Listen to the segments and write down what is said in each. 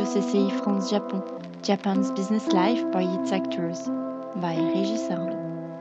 CCI France-Japon, Japan's Business Life by its actors, by Régis Arnaud.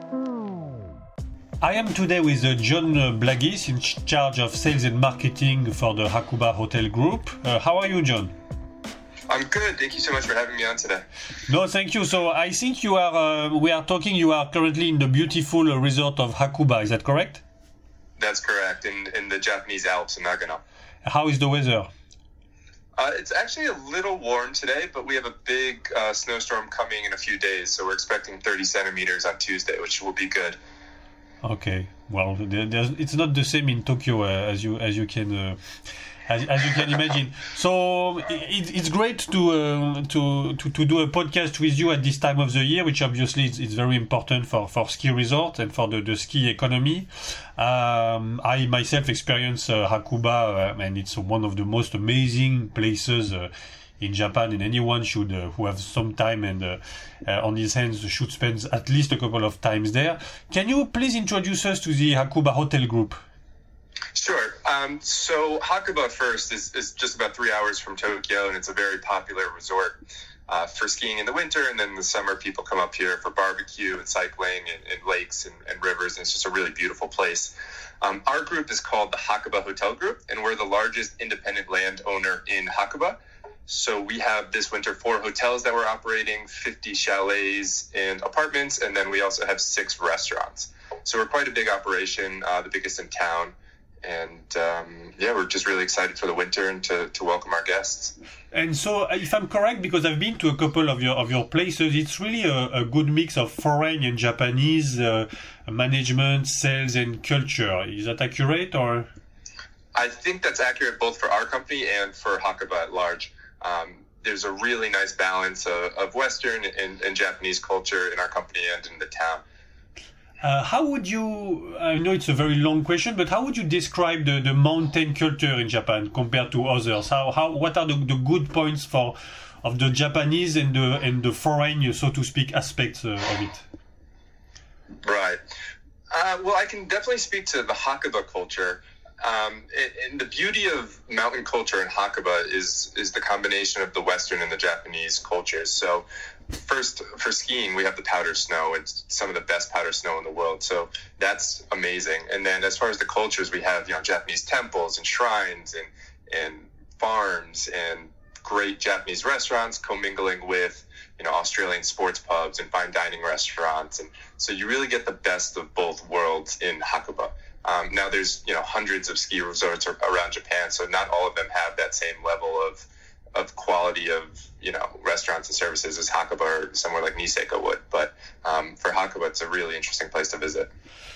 I am today with John Blagis, in charge of sales and marketing for the Hakuba Hotel Group. How are you, John? I'm good. Thank you so much for having me on today. No, thank you. So I think you are. We are talking. You are currently in the beautiful resort of Hakuba. Is that correct? That's correct. In the Japanese Alps in Nagano. How is the weather? It's actually a little warm today, but we have a big snowstorm coming in a few days. So we're expecting 30 centimeters on Tuesday, which will be good. Okay. Well, it's not the same in Tokyo as you can. As you can imagine, so it's great to do a podcast with you at this time of the year, which obviously is very important for ski resort and for the ski economy. I myself experience Hakuba, and it's one of the most amazing places in Japan, and anyone should who have some time and on his hands should spend at least a couple of times there. Can you please introduce us to the Hakuba Hotel Group? Sure. So Hakuba first is just about 3 hours from Tokyo, and it's a very popular resort for skiing in the winter. And then in the summer, people come up here for barbecue and cycling and lakes and rivers. And it's just a really beautiful place. Our group is called the Hakuba Hotel Group, and we're the largest independent landowner in Hakuba. So we have this winter 4 hotels that we're operating, 50 chalets and apartments, and then we also have 6 restaurants. So we're quite a big operation, the biggest in town. And we're just really excited for the winter and to welcome our guests. And so, if I'm correct, because I've been to a couple of your places, it's really a good mix of foreign and Japanese management, sales, and culture. Is that accurate, or? I think that's accurate both for our company and for Hakuba at large. There's a really nice balance of Western and Japanese culture in our company and in the town. How would you, I know it's a very long question, but how would you describe the mountain culture in Japan compared to others? What are the good points of the Japanese and the foreign, so to speak, aspects of it? Right. Well, I can definitely speak to the Hakuba culture. And the beauty of mountain culture in Hakuba is the combination of the Western and the Japanese cultures. So first, for skiing, we have the powder snow. It's some of the best powder snow in the world. So that's amazing. And then as far as the cultures, we have, Japanese temples and shrines and farms and great Japanese restaurants commingling with, Australian sports pubs and fine dining restaurants. And so you really get the best of both worlds in Hakuba. Now there's, hundreds of ski resorts around Japan, so not all of them have that same level of quality of, restaurants and services as Hakuba or somewhere like Niseko would. But for Hakuba, it's a really interesting place to visit.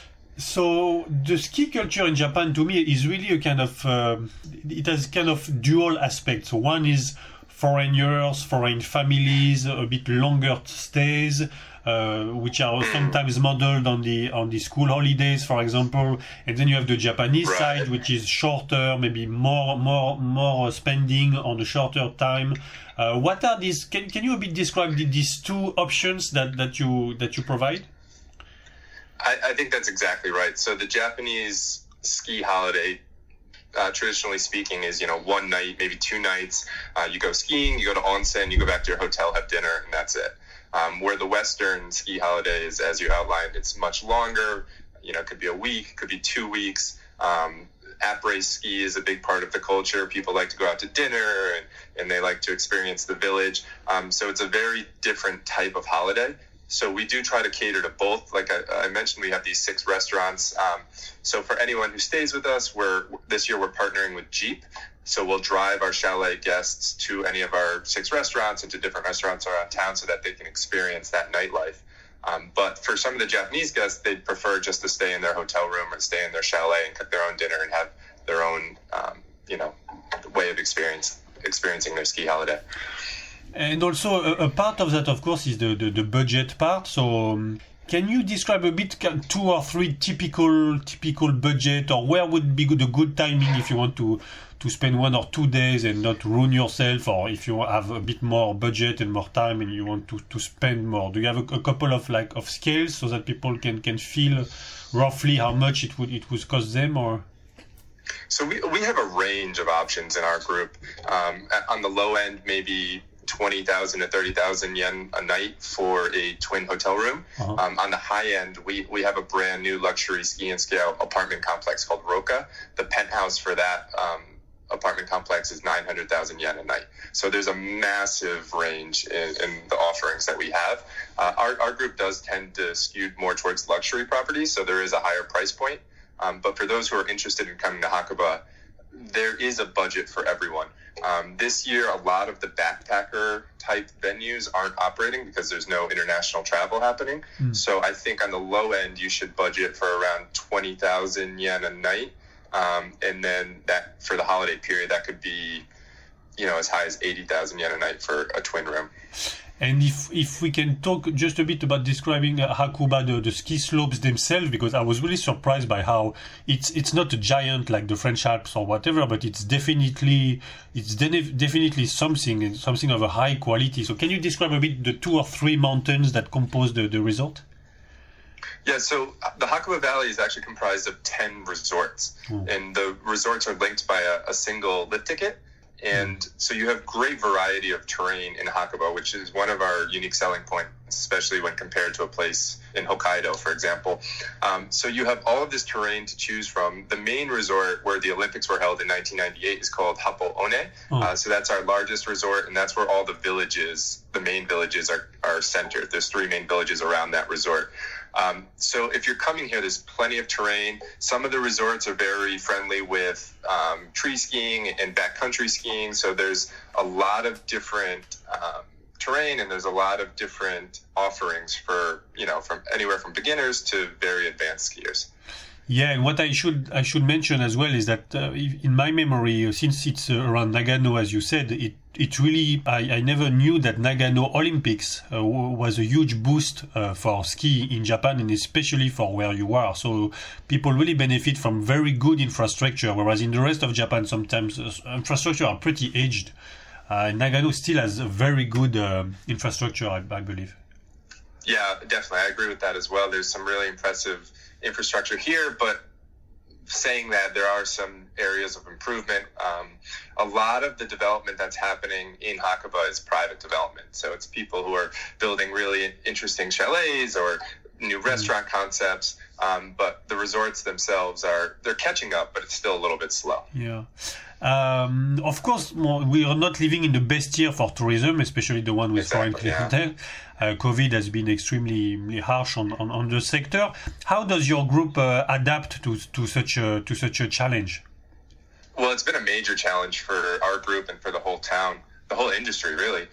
So the ski culture in Japan, to me, is really a kind of, it has kind of dual aspects. One is foreigners, foreign families, a bit longer stays, which are sometimes modeled on the school holidays, for example, and then you have the Japanese side, which is shorter, maybe more spending on a shorter time. What are these? Can you a bit describe these two options that you provide? I think that's exactly right. So the Japanese ski holiday, traditionally speaking, is one night, maybe 2 nights. You go skiing, you go to onsen, you go back to your hotel, have dinner, and that's it. Where the Western ski holiday is, as you outlined, it's much longer. It could be a week, could be 2 weeks. Après ski is a big part of the culture. People like to go out to dinner and they like to experience the village. So it's a very different type of holiday. So we do try to cater to both. Like I mentioned, we have these 6 restaurants. So for anyone who stays with us, this year we're partnering with Jeep. So we'll drive our chalet guests to any of our 6 restaurants and to different restaurants around town so that they can experience that nightlife. But for some of the Japanese guests, they'd prefer just to stay in their hotel room or stay in their chalet and cook their own dinner and have their own, way of experiencing their ski holiday. And also a part of that, of course, is the budget part. So can you describe a bit 2 or 3 typical budget, or where would be the good timing if you want to spend 1 or 2 days and not ruin yourself, or if you have a bit more budget and more time and you want to spend more? Do you have a couple of scales so that people can feel roughly how much it would cost them, or? So we have a range of options in our group. On the low end, maybe 20,000 to 30,000 yen a night for a twin hotel room. On the high end, we have a brand new luxury ski and ski out apartment complex called Roka. The penthouse for that apartment complex is 900,000 yen a night. So there's a massive range in the offerings that we have. Our group does tend to skew more towards luxury properties, so there is a higher price point. But for those who are interested in coming to Hakuba, there is a budget for everyone. This year, a lot of the backpacker type venues aren't operating because there's no international travel happening. So I think on the low end, you should budget for around 20,000 yen a night. And then that for the holiday period, that could be, as high as 80,000 yen a night for a twin room. And if we can talk just a bit about describing Hakuba, the ski slopes themselves, because I was really surprised by how it's not a giant like the French Alps or whatever, but it's definitely something of a high quality. So can you describe a bit the 2 or 3 mountains that compose the resort? Yeah, so the Hakuba Valley is actually comprised of 10 resorts, and the resorts are linked by a single lift ticket. And so you have great variety of terrain in Hakuba, which is one of our unique selling points, especially when compared to a place in Hokkaido, for example. So you have all of this terrain to choose from. The main resort where the Olympics were held in 1998 is called Happo One. So that's our largest resort, and that's where all the main villages are centered. There's 3 main villages around that resort. So if you're coming here, there's plenty of terrain. Some of the resorts are very friendly with tree skiing and backcountry skiing. So there's a lot of different terrain, and there's a lot of different offerings for, from anywhere from beginners to very advanced skiers. Yeah, and what I should mention as well is that in my memory, since it's around Nagano, as you said, it really I never knew that Nagano Olympics was a huge boost for ski in Japan, and especially for where you are. So people really benefit from very good infrastructure, whereas in the rest of Japan sometimes infrastructure are pretty aged. Nagano still has a very good infrastructure, I believe. Yeah, definitely. I agree with that as well. There's some really impressive infrastructure here, but saying that, there are some areas of improvement. A lot of the development that's happening in Hakuba is private development. So it's people who are building really interesting chalets or new restaurant concepts. But the resorts themselves they're catching up, but it's still a little bit slow. Yeah. Of course, we are not living in the best year for tourism, especially the one with foreign clientele. COVID has been extremely harsh on the sector. How does your group adapt to such a challenge? Well, it's been a major challenge for our group and for the whole town, the whole industry, really.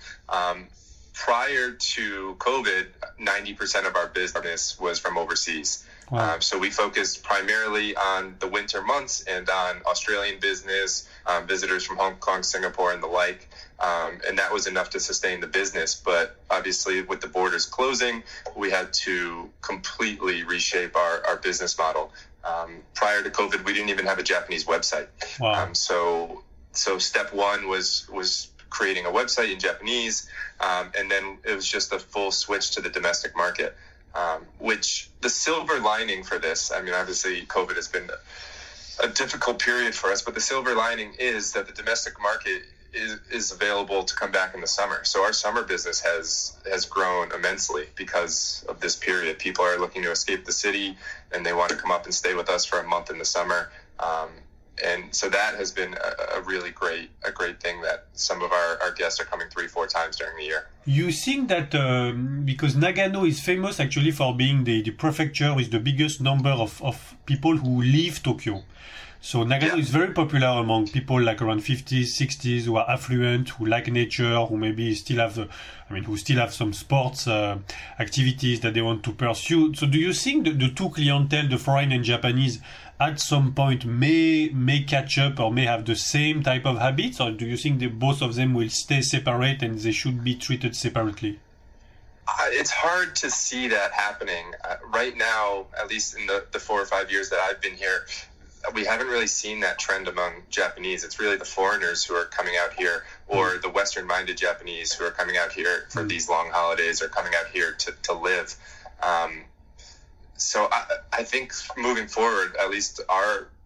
Prior to COVID, 90% of our business was from overseas. Wow. So we focused primarily on the winter months and on Australian business, visitors from Hong Kong, Singapore, and the like. And that was enough to sustain the business. But obviously, with the borders closing, we had to completely reshape our business model. Prior to COVID, we didn't even have a Japanese website. Wow. So step one was creating a website in Japanese, and then it was just a full switch to the domestic market. Which the silver lining for this, I mean, obviously COVID has been a difficult period for us, but the silver lining is that the domestic market is available to come back in the summer. So our summer business has grown immensely because of this period. People are looking to escape the city, and they want to come up and stay with us for a month in the summer. And so that has been a really great thing, that some of our guests are coming 3-4 times during the year. You think that because Nagano is famous actually for being the prefecture with the biggest number of people who leave Tokyo. So Nagano is very popular among people like around 50s, 60s who are affluent, who like nature, who maybe still have some sports activities that they want to pursue. So do you think the two clientele, the foreign and Japanese, at some point may catch up or may have the same type of habits, or do you think that both of them will stay separate and they should be treated separately? It's hard to see that happening. Right now, at least in the 4 or 5 years that I've been here, we haven't really seen that trend among Japanese. It's really the foreigners who are coming out here, or the Western-minded Japanese who are coming out here for these long holidays, or coming out here to live. So I think moving forward, at least our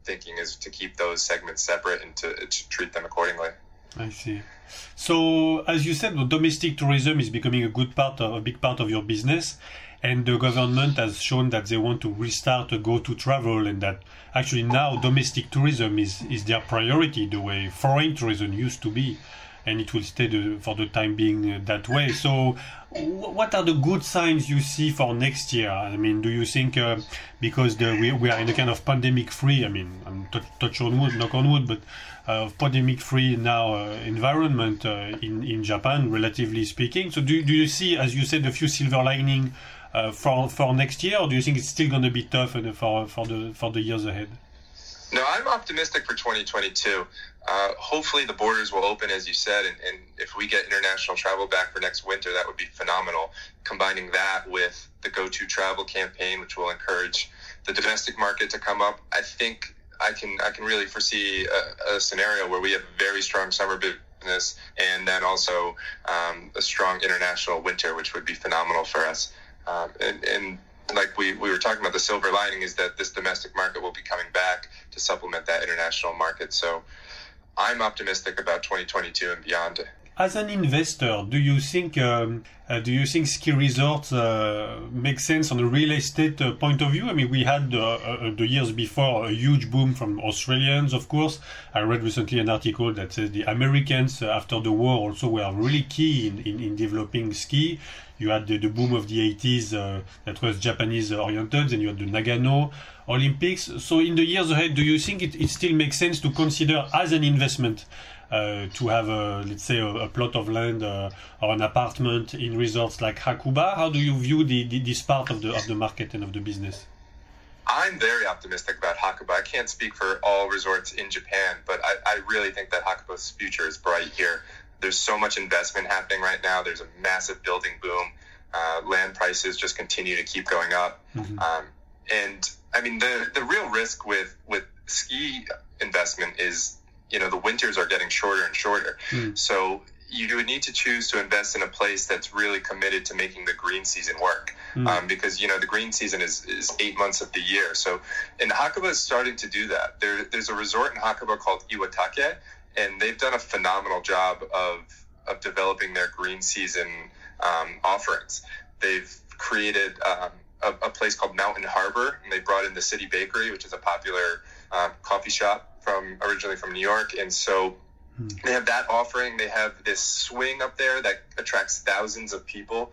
thinking is to keep those segments separate and to treat them accordingly. I see. So, as you said, domestic tourism is becoming a big part of your business, and the government has shown that they want to restart go-to travel, and that actually now domestic tourism is their priority, the way foreign tourism used to be, and it will stay for the time being that way. So, what are the good signs you see for next year? I mean, do you think because we are in a kind of pandemic-free, I mean, I'm touch on wood, knock on wood, but pandemic-free now environment in Japan, relatively speaking. So do you see, as you said, a few silver lining for next year, or do you think it's still going to be tough for the years ahead? No, I'm optimistic for 2022. Hopefully the borders will open, as you said, and if we get international travel back for next winter, that would be phenomenal. Combining that with the Go-To Travel campaign, which will encourage the domestic market to come up, I think I can really foresee a scenario where we have very strong summer business and then also a strong international winter, which would be phenomenal for us. And like we were talking about, the silver lining is that this domestic market will be coming back to supplement that international market. So I'm optimistic about 2022 and beyond. As an investor, do you think ski resorts make sense on a real estate point of view? I mean, we had the years before a huge boom from Australians, of course. I read recently an article that says the Americans after the war also were really key in developing ski. You had the boom of the 80s that was Japanese oriented, and you had the Nagano Olympics. So in the years ahead, do you think it still makes sense to consider as an investment to have, let's say, a plot of land or an apartment in resorts like Hakuba? How do you view this part of the market and of the business? I'm very optimistic about Hakuba. I can't speak for all resorts in Japan, but I really think that Hakuba's future is bright here. There's so much investment happening right now. There's a massive building boom. Land prices just continue to keep going up. Mm-hmm. And I mean, the real risk with ski investment is, the winters are getting shorter and shorter. Mm. So you would need to choose to invest in a place that's really committed to making the green season work. Mm. Because, the green season is 8 months of the year. So, and Hakuba is starting to do that. There's a resort in Hakuba called Iwatake, and they've done a phenomenal job of developing their green season offerings. They've created a place called Mountain Harbor, and they brought in the City Bakery, which is a popular coffee shop originally from New York. And so they have that offering. They have this swing up there that attracts thousands of people.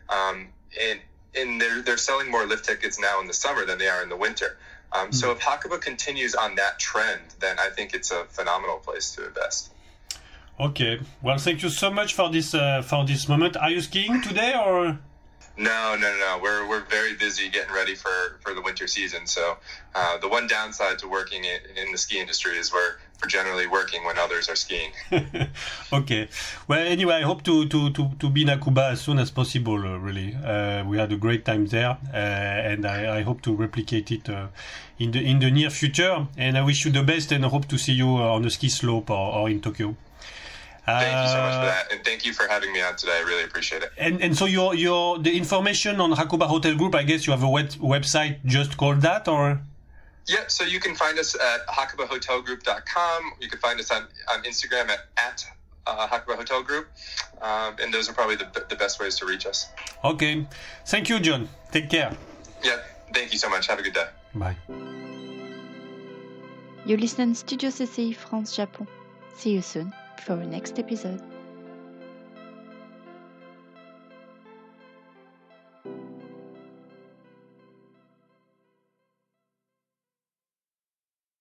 And they're selling more lift tickets now in the summer than they are in the winter. So if Hakuba continues on that trend, then I think it's a phenomenal place to invest. Okay. Well, thank you so much for this moment. Are you skiing today or? No. We're very busy getting ready for the winter season. So the one downside to working in the ski industry is we're generally working when others are skiing. Okay. Well, anyway, I hope to be in Hakuba as soon as possible. Really, we had a great time there, and I hope to replicate it in the near future. And I wish you the best, and I hope to see you on a ski slope or in Tokyo. Thank you so much for that, and thank you for having me on today. I really appreciate it. And so the information on Hakuba Hotel Group, I guess you have a website just called that, or? Yeah, so you can find us at hakubahotelgroup.com. You can find us on Instagram at Hakuba Hotel Group, and those are probably the best ways to reach us. Okay, thank you, John. Take care. Yeah, thank you so much. Have a good day. Bye. You listen Studio CCI France Japon. See you soon for the next episode.